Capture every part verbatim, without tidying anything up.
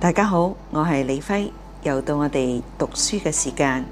大家好，我係李輝，又到我哋讀書嘅時間，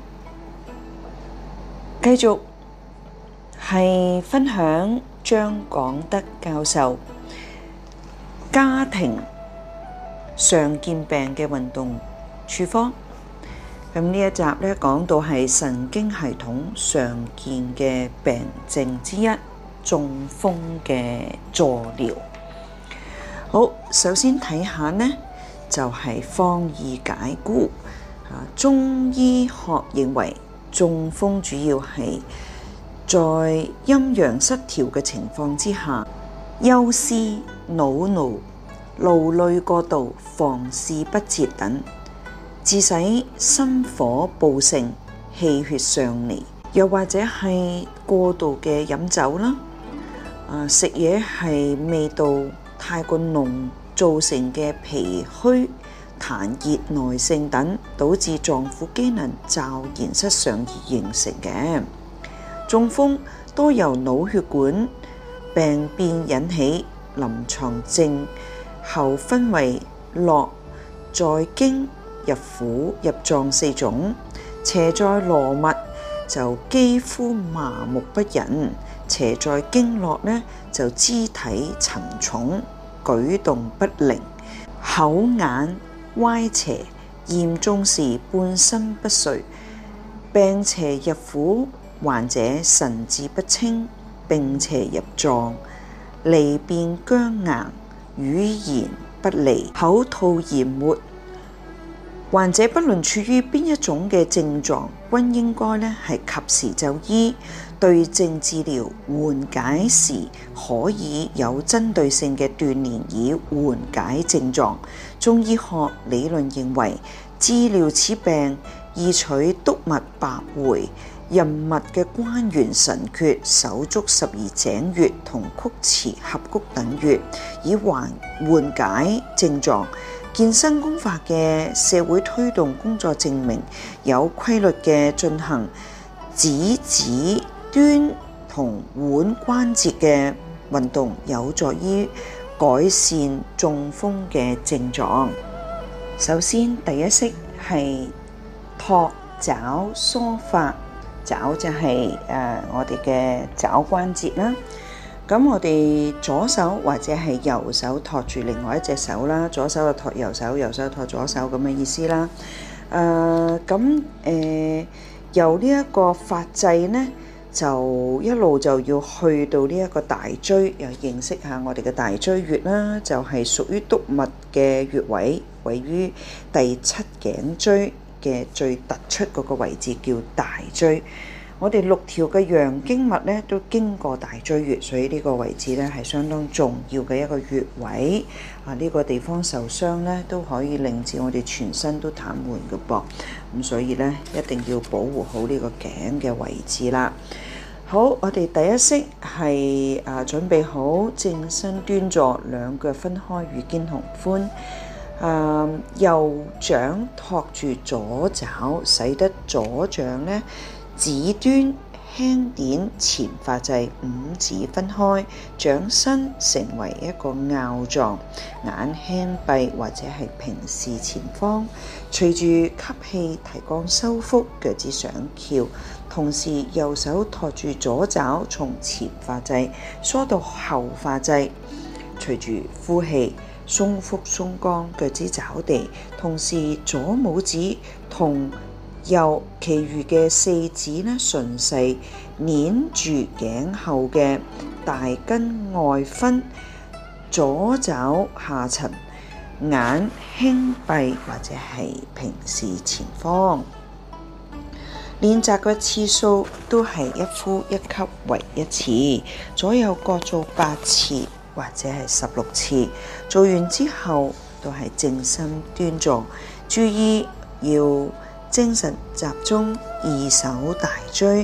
繼續係分享張廣德教授家庭常見病嘅運動處方。咁呢一集咧講到係神經系統常見嘅病症之一，中風嘅助療。好，首先睇下呢就係方義解故。啊，中醫學認為中風主要係在陰陽失調嘅情況之下，憂思、惱怒、勞累過度、房事不節等，致使心火暴盛、氣血上逆，又或者係過度嘅飲酒啦，啊食嘢係味道太過濃造成嘅脾虛、痰熱內盛等，導致臟腑機能驟然失常而形成嘅。中風多由腦血管病變引起，臨床症後分為絡在經、入腑、入臟四種。邪在羅脈就肌膚麻木不仁，邪在經絡呢就肢體沉重，舉動不靈，口眼歪斜，嚴重時半身不遂。病邪入腑，患者神志不清，並邪入臟，離便僵硬，語言不利，口吐鹽沫。患者不論處於邊一種嘅症狀，均應該咧係及時就醫，對症治療，緩解時可以有針對性嘅鍛煉以緩解症狀。中醫學理論認為，治療此病宜取督脈百會、任脈嘅關元神闕、手足十二井穴同曲池合谷等穴，以緩緩解症狀。健身功法嘅社會推動工作證明，有規律嘅進行指指端同腕關節嘅運動，有助於改善中風嘅症狀。首先，第一式係托爪梳發。爪就係、是呃、我哋嘅爪關節啦。咁我哋左手或者係右手托住另外一隻手啦，左手就托右手，右手托左手咁嘅意思啦。誒咁誒由呢一個發際呢，就一路就要去到呢一個大椎，又認識下我哋嘅大椎穴啦，就係、是、屬於督脈嘅穴位，位於第七頸椎嘅最突出嗰個位置叫大椎。我哋六條嘅陽經脈咧都經過大椎穴，所以呢個位置咧係相當重要嘅一個穴位。啊，呢、這個地方受傷咧都可以令至我哋全身都癱瘓嘅噃。咁所以咧一定要保護好呢個頸嘅位置啦。好，我哋第一式係啊準備好正身端坐，兩腳分開與肩同寬。啊，右掌托住左爪，使得左掌咧指端輕點前發際，五指分開，掌身成為一個拗狀，眼輕閉或者係平視前方，隨住吸氣提肛收腹，腳趾上翹，同時右手托住左爪，從前發際梳到後發際，隨住呼氣鬆腹鬆肛，腳趾找地，同時左拇指同右其餘嘅四指呢順勢捏住頸後嘅大筋外分，左爪下沉，眼輕閉或者係平視前方。練習嘅次數都係一呼一吸為一次，左右各做八次或者係十六次。做完之後都係正身端坐，注意要精神集中，二手大椎，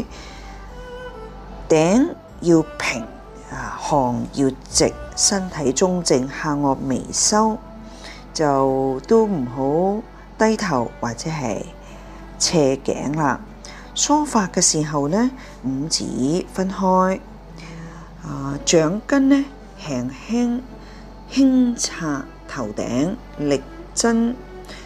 頂要平，啊項要直，身體中正，下顎微收，就都唔好低頭或者係斜頸啦。梳發嘅時候呢，五指分開，啊掌根呢輕輕輕擦頭頂，力針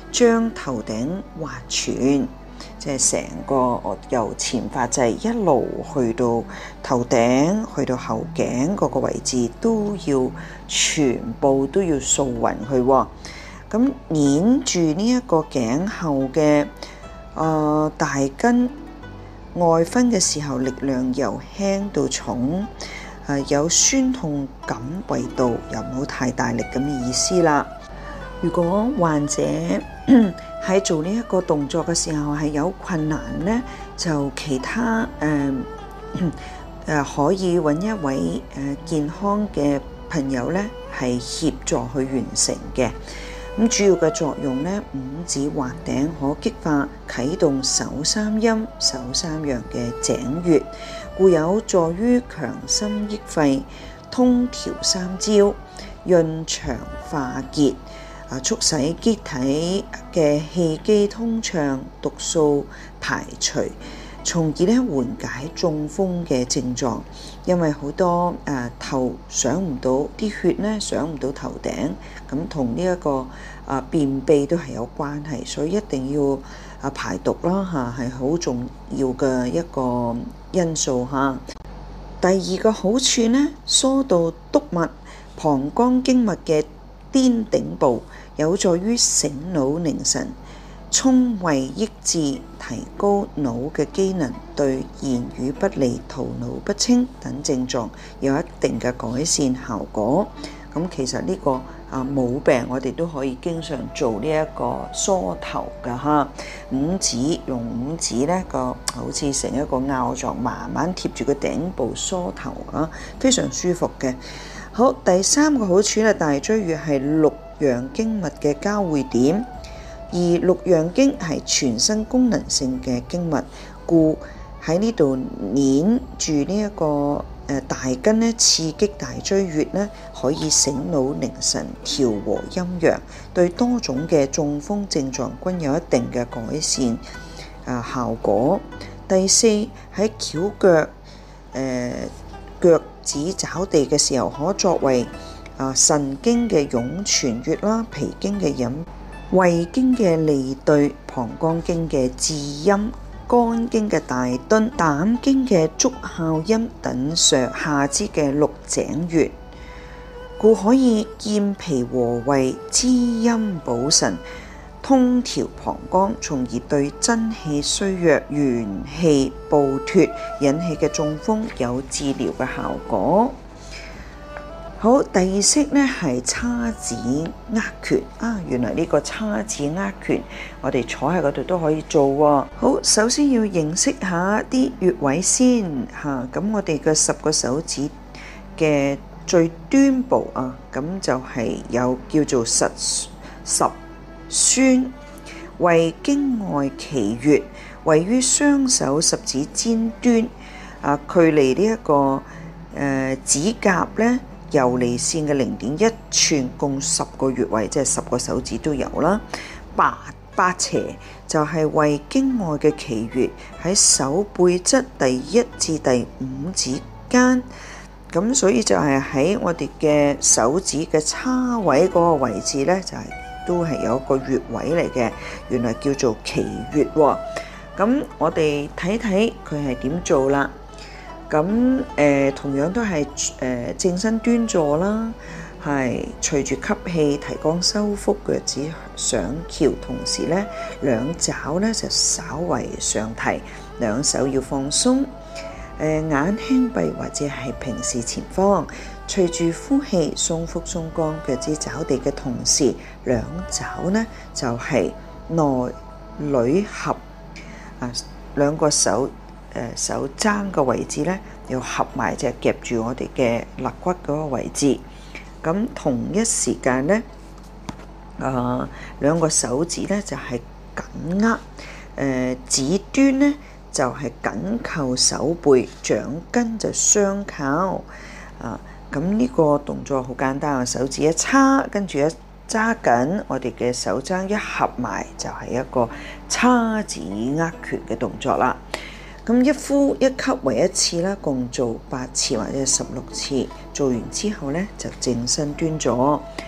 將頭頂劃全，即係成個由前髮際一路去到頭頂，去到後頸嗰個位置都要全部都要掃勻佢。咁捏住呢一個頸後嘅誒、呃、大筋外分嘅時候，力量由輕到重，誒、呃、有酸痛感為度，又唔好太大力咁嘅意思啦。如果患者喺做呢一個動作嘅時候係有困難咧，就其他誒誒、呃呃、可以揾一位誒、呃、健康嘅朋友咧，係協助去完成嘅。咁主要嘅作用咧，五指劃頂可激發啟動手三陰、手三陽嘅井穴，故有助於強心益肺、通調三焦、潤腸化結，啊，促使機體嘅氣機通暢、毒素排除，從而咧緩解中風嘅症狀。因為好多誒、呃、頭上唔到啲血咧，上唔到頭頂，咁同呢一個啊、呃、便秘都係有關係，所以一定要啊排毒啦嚇，係好重要嘅一個因素嚇。第二個好處咧，疏導督脈、膀胱經脈嘅巔頂部，有助於醒腦凝神、聰慧益智，提高腦嘅機能，對言語不利、頭腦不清等症狀有一定嘅改善效果。咁其實呢個啊冇病，我哋都可以經常做呢一個梳頭㗎哈。五指用五指咧個好似成一個拗狀，慢慢貼住個頂部梳頭啊，非常舒服嘅。好，第三個好處咧，大椎穴係六陽經脈嘅交匯點。而六陽經係全身功能性嘅經脈，故喺呢度捏住呢一個誒大筋咧，刺激大椎穴咧，可以醒腦凝神、調和陰陽，對多種嘅中風症狀均有一定嘅改善啊效果。第四，喺翹腳誒腳趾找地嘅時候，可作為啊神經嘅湧泉穴啦，脾經嘅引胃經嘅利對、膀胱經嘅至陰、肝經嘅大敦、膽經嘅足少陰等上下肢嘅六井穴，故可以健脾和胃、滋陰補腎、通調膀胱，從而對真氣衰弱、元氣暴脱引起嘅中風有治療嘅效果。好，第二式咧係叉指握拳啊！原來呢個叉指握拳，我哋坐喺嗰度都可以做喎。好，首先要認識下啲穴位先嚇。咁、啊、我哋嘅十個手指嘅最端部啊，咁就係有叫做實十宣，為經外奇穴，位於雙手十指尖端啊，距離呢、這、一個誒、呃、指甲咧。游離線嘅零點一寸，共十個穴位，即係十個手指都有啦。八八斜就係為經外嘅奇穴，喺手背側第一至第五指間，咁所以就係喺我哋嘅手指嘅叉位嗰個位置咧，就係、是、都係有一個穴位嚟嘅，原來叫做奇穴喎。咁我哋睇睇佢係點做啦。咁誒、呃、同樣都係誒、呃、正身端坐啦，係隨住吸氣提肛收腹，腳趾上翹，同時咧兩爪咧就稍為上提，兩手要放鬆，誒、呃、眼輕閉或者係平視前方，隨住呼氣鬆腹鬆肛，腳趾找地嘅同時，兩爪咧就係、是、內裏合啊，兩個手。誒、呃、手踭個位置咧，要合埋，就夾住我哋嘅肋骨嗰個位置。咁同一時間咧，啊、呃、兩個手指咧就係、是、緊握，誒、呃、指端咧就係、是、緊扣手背，掌根就相靠。啊，咁呢個動作好簡單啊，手指一叉，跟住一揸緊我哋嘅手踭一合埋，就係、是、一個叉指握拳嘅動作啦。咁一呼一吸為一次啦，共做八次或者十六次。做完之後咧，就正身端坐。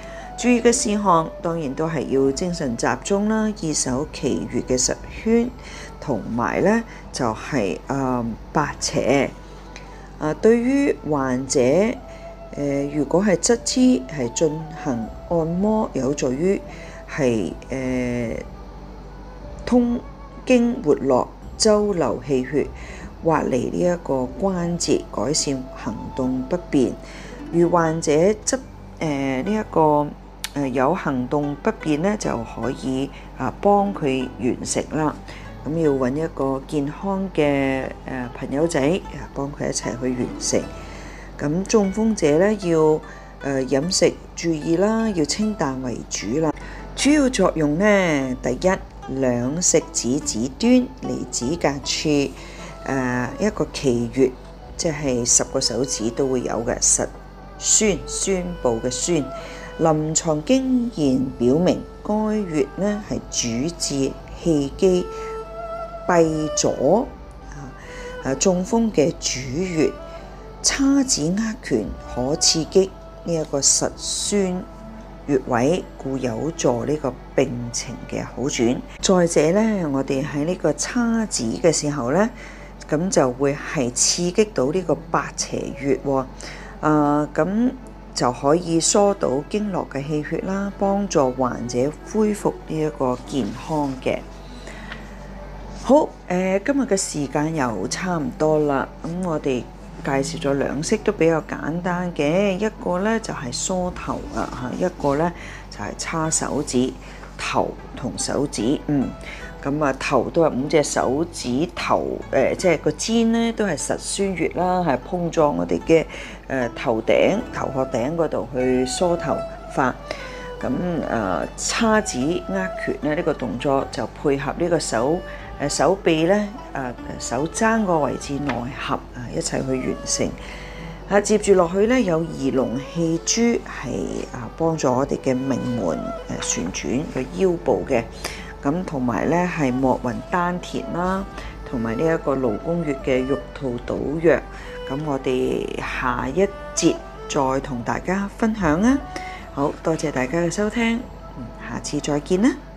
注意嘅事項當然都係要精神集中啦，依守其餘嘅十圈，同埋咧就係、是、誒、呃、八斜。啊，對於患者誒、呃，如果係側肢係進行按摩，有助於係誒通經活絡、周流氣血，滑離呢一個關節，改善行動不便。如患者側誒呢一個誒、呃、有行動不便咧，就可以啊幫佢完成啦。咁要揾一個健康嘅誒朋友仔啊，幫佢一齊去完成。咁中風者咧要誒飲食注意啦，要清淡為主啦。主要作用咧，第一，兩食指指端離指甲處誒、呃、一個奇穴，即係十個手指都會有嘅實宣宣部嘅宣。臨床經驗表明，該穴咧係主治氣機閉阻啊，中風嘅主穴，叉指握拳可刺激呢一個實宣穴位，故有助呢個病情嘅好轉。再者咧，我哋喺呢個叉指嘅時候咧，咁就會係刺激到呢個八邪穴喎，啊咁就可以疏導經絡嘅氣血啦，幫助患者恢復呢一個健康嘅。好，誒、呃、今日嘅時間又差唔多啦，咁我哋介紹咗兩式都比較簡單嘅，一個咧就係、是、梳頭啊嚇，一個咧就係、是、叉手指頭同手指，嗯，咁啊頭都係五隻手指頭，誒、呃、即係個尖咧都係實宣穴啦，係碰撞我哋嘅誒頭頂頭殼頂嗰度去梳頭髮。咁誒叉指握拳咧呢、這個動作就配合呢個手。誒手臂咧，誒手踭個位置內合啊，一齊去完成。啊，接住落去咧，有儀龍氣珠係啊幫助我哋嘅命門誒旋轉個腰部嘅。咁同埋咧係摩運丹田啦，同埋呢一個勞宮穴嘅玉兔搗藥。咁我哋下一節再同大家分享啊！好多謝大家嘅收聽，下次再見啦〜